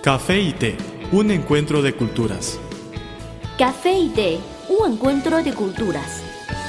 Café y té, un encuentro de culturas. Café y té, un encuentro de culturas.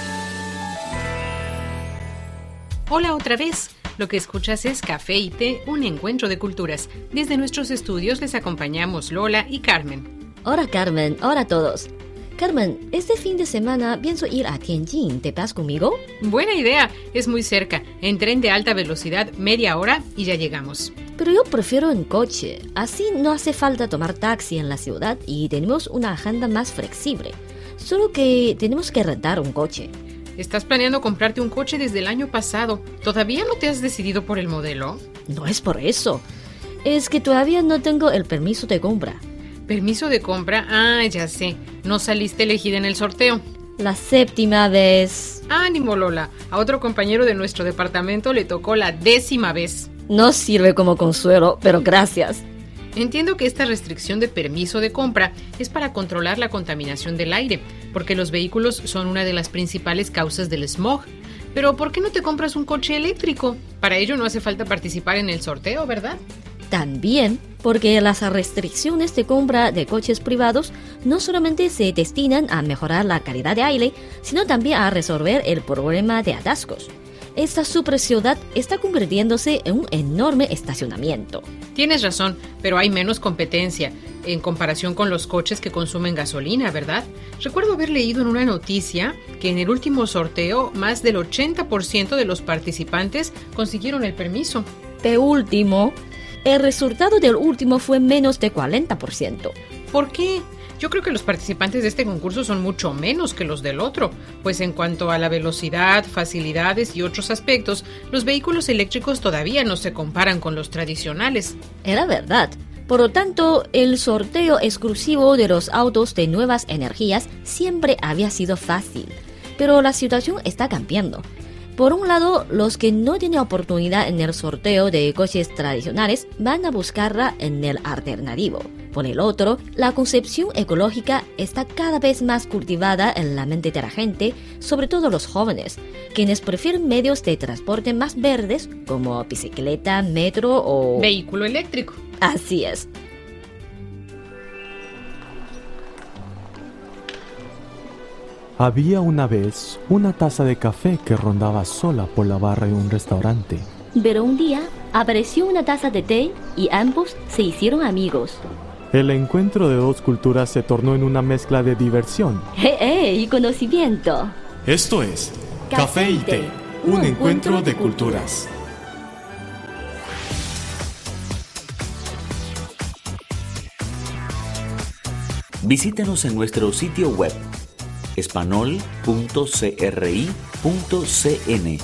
Hola otra vez. Lo que escuchas es Café y té, un encuentro de culturas. Desde nuestros estudios les acompañamos Lola y Carmen. Hola Carmen, hola a todos. Carmen, este fin de semana pienso ir a Tianjin. ¿Te vas conmigo? Buena idea, es muy cerca. En tren de alta velocidad, media hora y ya llegamos. Pero yo prefiero en coche. Así no hace falta tomar taxi en la ciudad y tenemos una agenda más flexible. Solo que tenemos que rentar un coche. ¿Estás planeando comprarte un coche desde el año pasado? ¿Todavía no te has decidido por el modelo? No es por eso. Es que todavía no tengo el permiso de compra. ¿Permiso de compra? Ah, ya sé. No saliste elegida en el sorteo. La 7ª vez. Ánimo, Lola. A otro compañero de nuestro departamento le tocó la 10ª vez. No sirve como consuelo, pero gracias. Entiendo que esta restricción de permiso de compra es para controlar la contaminación del aire, porque los vehículos son una de las principales causas del smog. Pero ¿por qué no te compras un coche eléctrico? Para ello no hace falta participar en el sorteo, ¿verdad? También porque las restricciones de compra de coches privados no solamente se destinan a mejorar la calidad de aire, sino también a resolver el problema de atascos. Esta superciudad está convirtiéndose en un enorme estacionamiento. Tienes razón, pero hay menos competencia en comparación con los coches que consumen gasolina, ¿verdad? Recuerdo haber leído en una noticia que en el último sorteo más del 80% de los participantes consiguieron el permiso. El resultado del último fue menos de 40%. ¿Por qué? Yo creo que los participantes de este concurso son mucho menos que los del otro, pues en cuanto a la velocidad, facilidades y otros aspectos, los vehículos eléctricos todavía no se comparan con los tradicionales. Era verdad. Por lo tanto, el sorteo exclusivo de los autos de nuevas energías siempre había sido fácil. Pero la situación está cambiando. Por un lado, los que no tienen oportunidad en el sorteo de coches tradicionales van a buscarla en el alternativo. Por el otro, la concepción ecológica está cada vez más cultivada en la mente de la gente, sobre todo los jóvenes, quienes prefieren medios de transporte más verdes como bicicleta, metro o vehículo eléctrico. Así es. Había una vez una taza de café que rondaba sola por la barra de un restaurante. Pero un día apareció una taza de té y ambos se hicieron amigos. El encuentro de dos culturas se tornó en una mezcla de diversión y conocimiento. Esto es Café y té, un encuentro de culturas. Visítenos en nuestro sitio web espanol.cri.cn.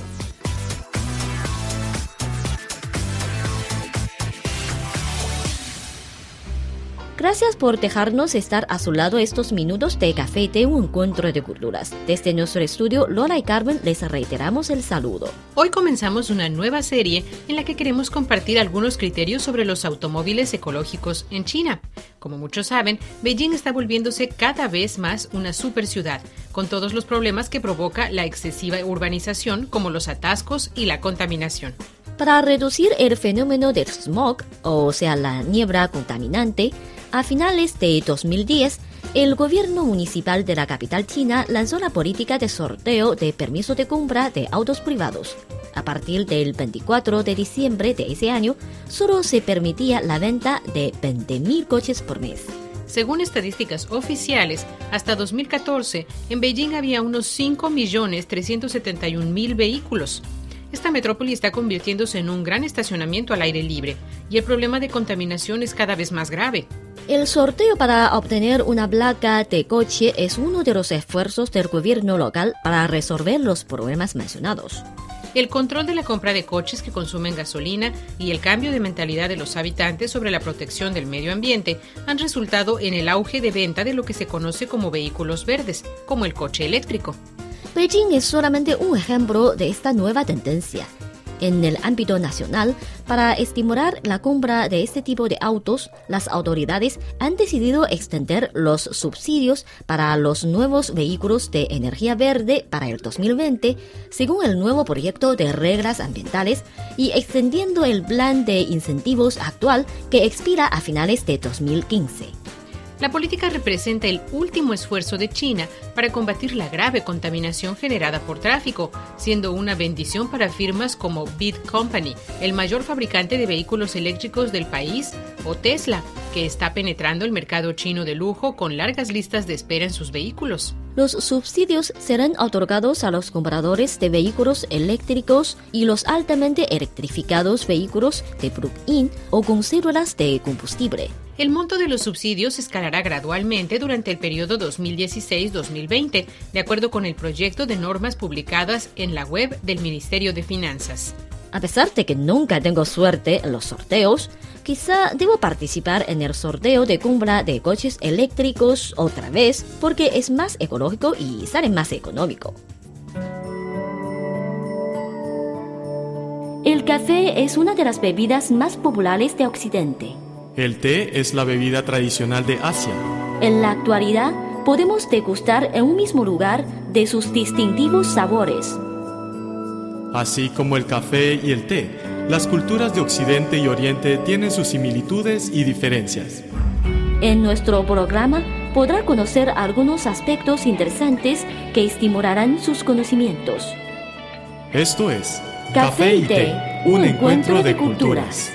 Gracias por dejarnos estar a su lado estos minutos de Café y té, un encuentro de culturas. Desde nuestro estudio, Lola y Carmen les reiteramos el saludo. Hoy comenzamos una nueva serie en la que queremos compartir algunos criterios sobre los automóviles ecológicos en China. Como muchos saben, Beijing está volviéndose cada vez más una superciudad, con todos los problemas que provoca la excesiva urbanización, como los atascos y la contaminación. Para reducir el fenómeno del smog, o sea, la niebla contaminante, a finales de 2010, el gobierno municipal de la capital china lanzó la política de sorteo de permiso de compra de autos privados. A partir del 24 de diciembre de ese año, solo se permitía la venta de 20.000 coches por mes. Según estadísticas oficiales, hasta 2014, en Beijing había unos 5.371.000 vehículos. Esta metrópoli está convirtiéndose en un gran estacionamiento al aire libre y el problema de contaminación es cada vez más grave. El sorteo para obtener una placa de coche es uno de los esfuerzos del gobierno local para resolver los problemas mencionados. El control de la compra de coches que consumen gasolina y el cambio de mentalidad de los habitantes sobre la protección del medio ambiente han resultado en el auge de venta de lo que se conoce como vehículos verdes, como el coche eléctrico. Beijing es solamente un ejemplo de esta nueva tendencia. En el ámbito nacional, para estimular la compra de este tipo de autos, las autoridades han decidido extender los subsidios para los nuevos vehículos de energía verde para el 2020, según el nuevo proyecto de reglas ambientales, y extendiendo el plan de incentivos actual que expira a finales de 2015. La política representa el último esfuerzo de China para combatir la grave contaminación generada por tráfico, siendo una bendición para firmas como Bid Company, el mayor fabricante de vehículos eléctricos del país, o Tesla, que está penetrando el mercado chino de lujo con largas listas de espera en sus vehículos. Los subsidios serán otorgados a los compradores de vehículos eléctricos y los altamente electrificados vehículos de plug-in o con células de combustible. El monto de los subsidios escalará gradualmente durante el periodo 2016-2020, de acuerdo con el proyecto de normas publicadas en la web del Ministerio de Finanzas. A pesar de que nunca tengo suerte en los sorteos, quizá debo participar en el sorteo de compra de coches eléctricos otra vez porque es más ecológico y sale más económico. El café es una de las bebidas más populares de Occidente. El té es la bebida tradicional de Asia. En la actualidad, podemos degustar en un mismo lugar de sus distintivos sabores. Así como el café y el té, las culturas de Occidente y Oriente tienen sus similitudes y diferencias. En nuestro programa podrá conocer algunos aspectos interesantes que estimularán sus conocimientos. Esto es Café y Té, un encuentro de culturas.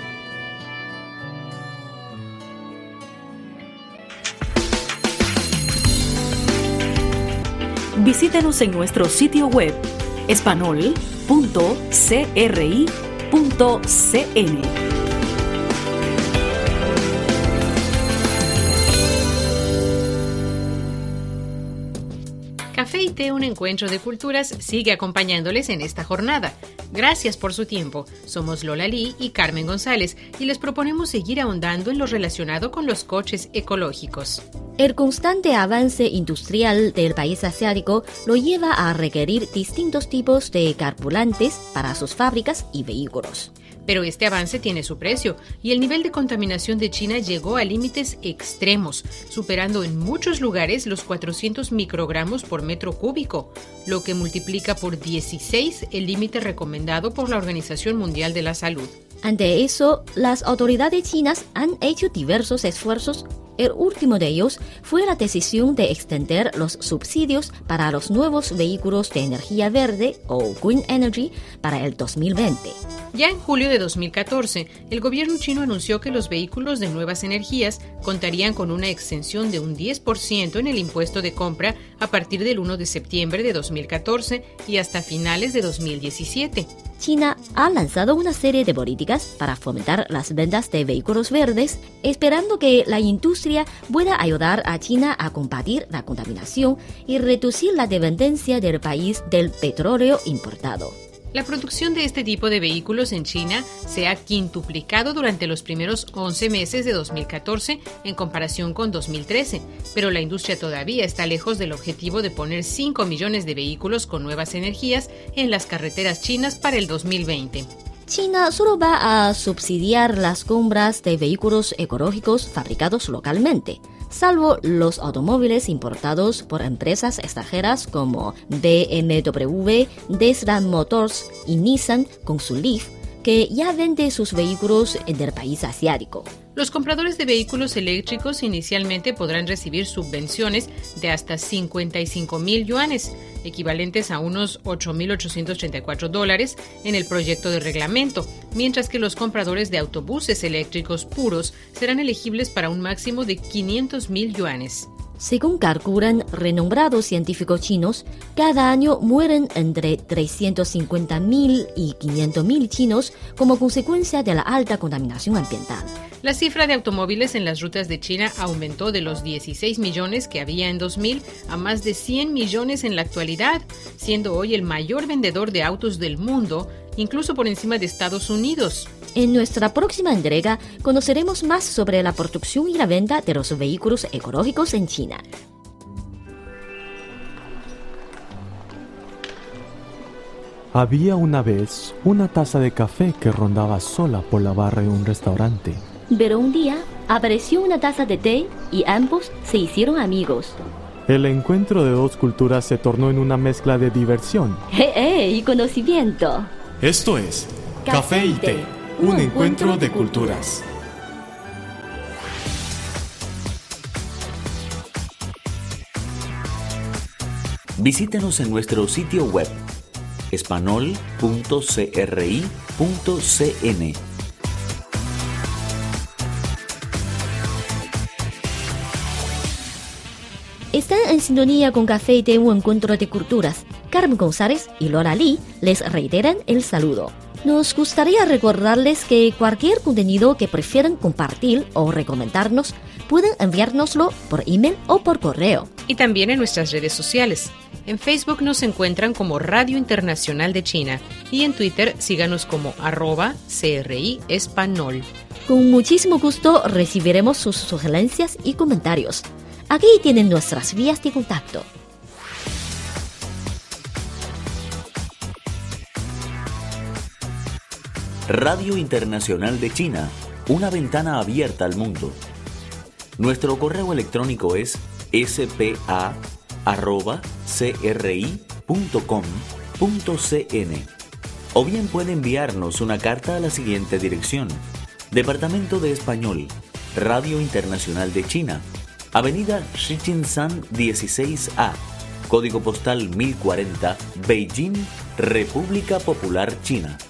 Visítenos en nuestro sitio web espanol.cri.cn. Café y Té, un encuentro de culturas, sigue acompañándoles en esta jornada. Gracias por su tiempo. Somos Lola Lee y Carmen González y les proponemos seguir ahondando en lo relacionado con los coches ecológicos. El constante avance industrial del país asiático lo lleva a requerir distintos tipos de carburantes para sus fábricas y vehículos. Pero este avance tiene su precio y el nivel de contaminación de China llegó a límites extremos, superando en muchos lugares los 400 microgramos por metro cúbico, lo que multiplica por 16 el límite recomendado por la Organización Mundial de la Salud. Ante eso, las autoridades chinas han hecho diversos esfuerzos. El último de ellos fue la decisión de extender los subsidios para los nuevos vehículos de energía verde o Green Energy para el 2020. Ya en julio de 2014, el gobierno chino anunció que los vehículos de nuevas energías contarían con una exención de un 10% en el impuesto de compra a partir del 1 de septiembre de 2014 y hasta finales de 2017. China ha lanzado una serie de políticas para fomentar las ventas de vehículos verdes, esperando que la industria pueda ayudar a China a combatir la contaminación y reducir la dependencia del país del petróleo importado. La producción de este tipo de vehículos en China se ha quintuplicado durante los primeros 11 meses de 2014 en comparación con 2013, pero la industria todavía está lejos del objetivo de poner 5 millones de vehículos con nuevas energías en las carreteras chinas para el 2020. China solo va a subsidiar las compras de vehículos ecológicos fabricados localmente, salvo los automóviles importados por empresas extranjeras como BMW, Tesla Motors y Nissan con su Leaf, que ya vende sus vehículos en el país asiático. Los compradores de vehículos eléctricos inicialmente podrán recibir subvenciones de hasta 55,000 yuanes, equivalentes a unos $8,834 en el proyecto de reglamento, mientras que los compradores de autobuses eléctricos puros serán elegibles para un máximo de 500,000 yuanes. Según calculan renombrados científicos chinos, cada año mueren entre 350,000 y 500,000 chinos como consecuencia de la alta contaminación ambiental. La cifra de automóviles en las rutas de China aumentó de los 16 millones que había en 2000 a más de 100 millones en la actualidad, siendo hoy el mayor vendedor de autos del mundo, incluso por encima de Estados Unidos. En nuestra próxima entrega conoceremos más sobre la producción y la venta de los vehículos ecológicos en China. Había una vez una taza de café que rondaba sola por la barra de un restaurante. Pero un día apareció una taza de té y ambos se hicieron amigos. El encuentro de dos culturas se tornó en una mezcla de diversión. Y conocimiento. Esto es Café y Té, un encuentro de culturas. Visítenos en nuestro sitio web espanol.cri.cn. Están en sintonía con Café y Té, un encuentro de culturas. Carmen González y Lola Lee les reiteran el saludo. Nos gustaría recordarles que cualquier contenido que prefieran compartir o recomendarnos, pueden enviárnoslo por email o por correo. Y también en nuestras redes sociales. En Facebook nos encuentran como Radio Internacional de China y en Twitter síganos como @CRI Espanol. Con muchísimo gusto recibiremos sus sugerencias y comentarios. Aquí tienen nuestras vías de contacto. Radio Internacional de China, una ventana abierta al mundo. Nuestro correo electrónico es spa@cri.com.cn o bien puede enviarnos una carta a la siguiente dirección: Departamento de Español, Radio Internacional de China, Avenida Shijingshan 16A, Código Postal 1040, Beijing, República Popular China.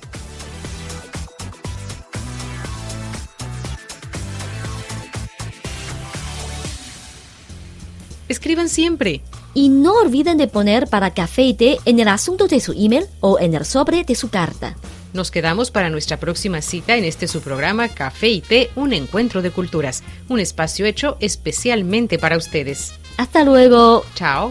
Escriban siempre. Y no olviden de poner para Café y Té en el asunto de su email o en el sobre de su carta. Nos quedamos para nuestra próxima cita en este su programa Café y Té, un encuentro de culturas, un espacio hecho especialmente para ustedes. Hasta luego. Chao.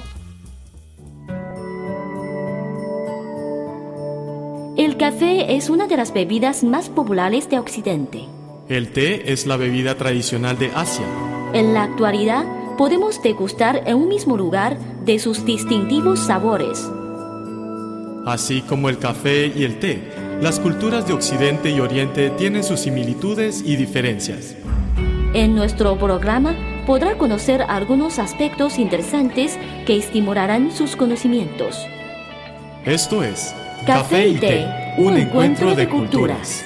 El café es una de las bebidas más populares de Occidente. El té es la bebida tradicional de Asia. En la actualidad, podemos degustar en un mismo lugar de sus distintivos sabores. Así como el café y el té, las culturas de Occidente y Oriente tienen sus similitudes y diferencias. En nuestro programa podrá conocer algunos aspectos interesantes que estimularán sus conocimientos. Esto es Café y Té, un encuentro de culturas.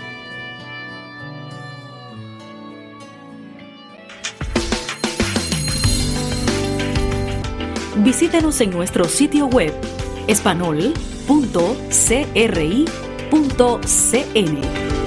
Visítenos en nuestro sitio web espanol.cri.cn.